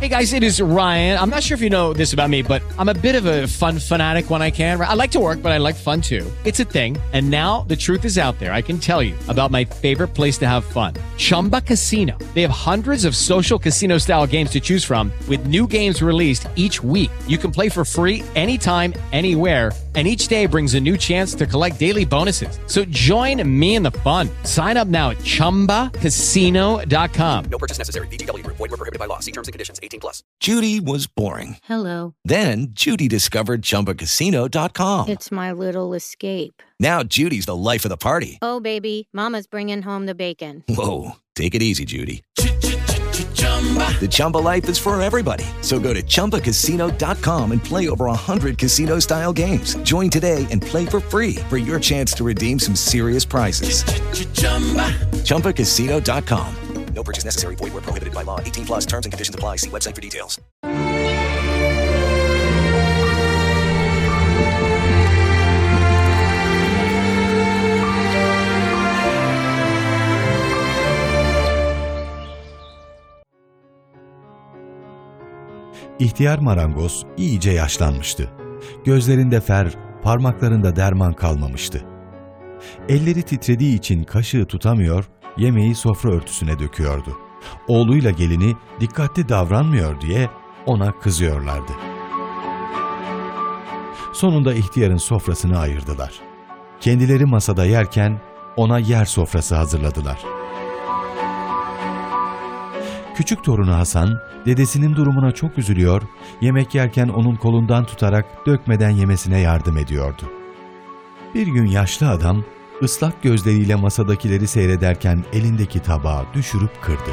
Hey guys, it is Ryan. I'm not sure if you know this about me, but I'm a bit of a fun fanatic when I can. I like to work, but I like fun too. It's a thing. And now the truth is out there. I can tell you about my favorite place to have fun. Chumba Casino. They have hundreds of social casino style games to choose from with new games released each week. You can play for free anytime, anywhere. And each day brings a new chance to collect daily bonuses. So join me in the fun. Sign up now at ChumbaCasino.com. No purchase necessary. VGW Group. Void where prohibited by law. See terms and conditions. 18+. Judy was boring. Hello. Then Judy discovered ChumbaCasino.com. It's my little escape. Now Judy's the life of the party. Oh, baby, mama's bringing home the bacon. Whoa, take it easy, Judy. The Chumba life is for everybody. So go to ChumbaCasino.com and play over 100 casino-style games. Join today and play for free for your chance to redeem some serious prizes. ChumbaCasino.com. No purchase necessary. Void where prohibited by law. 18+. Terms and conditions apply. See website for details. İhtiyar marangoz iyice yaşlanmıştı. Gözlerinde fer, parmaklarında derman kalmamıştı. Elleri titrediği için kaşığı tutamıyor, yemeği sofra örtüsüne döküyordu. Oğluyla gelini dikkatli davranmıyor diye ona kızıyorlardı. Sonunda ihtiyarın sofrasını ayırdılar. Kendileri masada yerken ona yer sofrası hazırladılar. Küçük torunu Hasan, dedesinin durumuna çok üzülüyor, yemek yerken onun kolundan tutarak dökmeden yemesine yardım ediyordu. Bir gün yaşlı adam, ıslak gözleriyle masadakileri seyrederken elindeki tabağı düşürüp kırdı.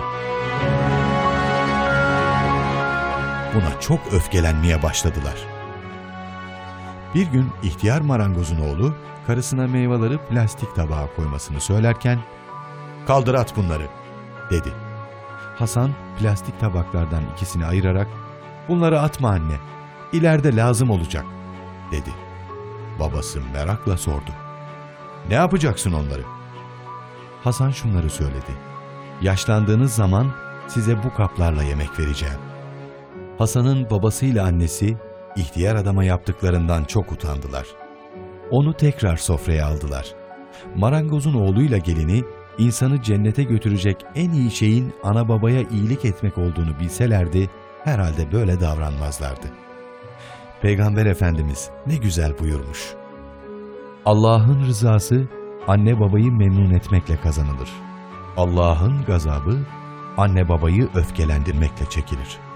Buna çok öfkelenmeye başladılar. Bir gün ihtiyar marangozun oğlu, karısına meyveleri plastik tabağa koymasını söylerken, "Kaldır at bunları," dedi. Hasan plastik tabaklardan ikisini ayırarak "Bunları atma anne, ileride lazım olacak," dedi. Babası merakla sordu. "Ne yapacaksın onları?" Hasan şunları söyledi. "Yaşlandığınız zaman size bu kaplarla yemek vereceğim." Hasan'ın babasıyla annesi ihtiyar adama yaptıklarından çok utandılar. Onu tekrar sofraya aldılar. Marangozun oğluyla gelini İnsanı cennete götürecek en iyi şeyin ana babaya iyilik etmek olduğunu bilselerdi, herhalde böyle davranmazlardı. Peygamber Efendimiz ne güzel buyurmuş. Allah'ın rızası anne babayı memnun etmekle kazanılır. Allah'ın gazabı anne babayı öfkelendirmekle çekilir.